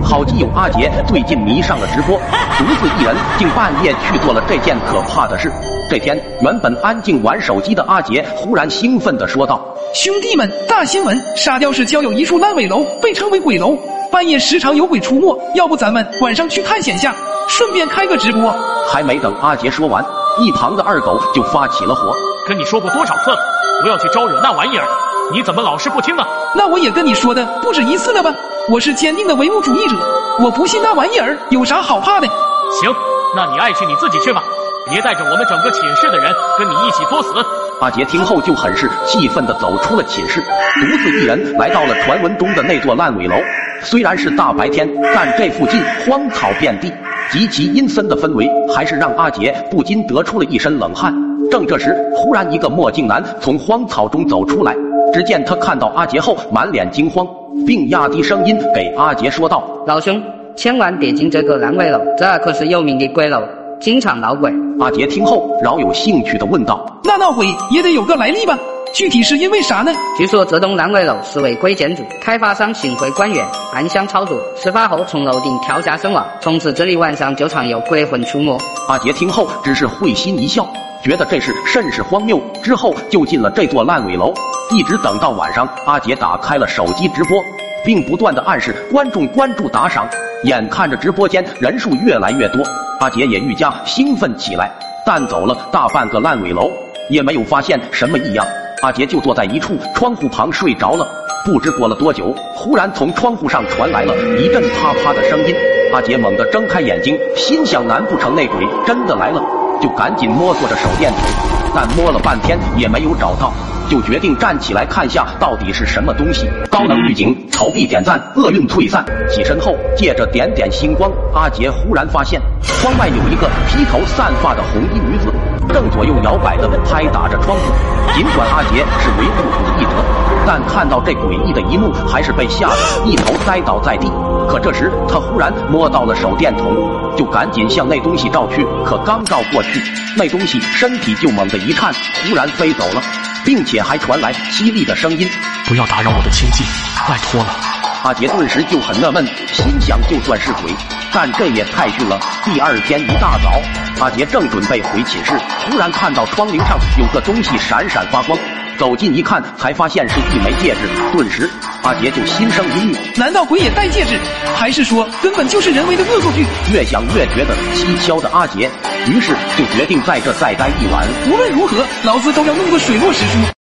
好基友阿杰最近迷上了直播，独自一人竟半夜去做了这件可怕的事。这天，原本安静玩手机的阿杰忽然兴奋地说道：“ 兄弟们，大新闻！沙雕市郊有一处烂尾楼，被称为鬼楼，半夜时常有鬼出没。要不咱们晚上去探险下，顺便开个直播？” 还没等阿杰说完，一旁的二狗就发起了火：“ 跟你说过多少次了，不要去招惹那玩意儿，你怎么老是不听啊？” 那我也跟你说的不止一次了吧？我是坚定的唯物主义者，我不信那玩意儿，有啥好怕的？ 行，那你爱去你自己去吧，别带着我们整个寝室的人跟你一起作死。 阿杰听后就很是气愤地走出了寝室，独自一人来到了传闻中的那座烂尾楼。虽然是大白天，但这附近荒草遍地，极其阴森的氛围还是让阿杰不禁得出了一身冷汗。正这时，忽然一个墨镜男从荒草中走出来，只见他看到阿杰后满脸惊慌，并压低声音给阿杰说道：“ 老兄，千万别进这个烂尾楼，这可是有名的鬼楼，经常闹鬼。” 阿杰听后饶有兴趣地问道：“ 那闹鬼也得有个来历吧？具体是因为啥呢？” 据说这栋烂尾楼是违规建筑，开发商幸亏官员暗箱操作，事发后从楼顶跳下身亡，从此这里晚上就常有鬼魂出没。 阿杰听后只是会心一笑，觉得这事甚是荒谬，之后就进了这座烂尾楼，一直等到晚上，阿杰打开了手机直播，并不断地暗示观众关注打赏。眼看着直播间人数越来越多，阿杰也愈加兴奋起来。但走了大半个烂尾楼，也没有发现什么异样，阿杰就坐在一处窗户旁睡着了。不知过了多久，忽然从窗户上传来了一阵啪啪的声音。阿杰猛地睁开眼睛，心想难不成那鬼真的来了，就赶紧摸索着手电筒，但摸了半天也没有找到，就决定站起来看下到底是什么东西。高能预警，草壁点赞，厄运退散。起身后，借着点点星光，阿杰忽然发现窗外有一个披头散发的红衣女子，正左右摇摆地拍打着窗户。尽管阿杰是唯物主义者，但看到这诡异的一幕，还是被吓得一头栽倒在地。可这时他忽然摸到了手电筒，就赶紧向那东西照去。可刚照过去，那东西身体就猛地一颤，忽然飞走了，并且还传来凄厉的声音：“ 不要打扰我的清静，拜托了。” 阿杰顿时就很纳闷，心想就算是鬼，但这也太逊了。第二天一大早，阿杰正准备回寝室，忽然看到窗棂上有个东西闪闪发光，走近一看，才发现是一枚戒指。顿时阿杰就心生一虑， 难道鬼也戴戒指？还是说根本就是人为的恶作剧？ 越想越觉得蹊跷的阿杰，于是就决定在这再待一晚。 无论如何，老子都要弄个水落石出。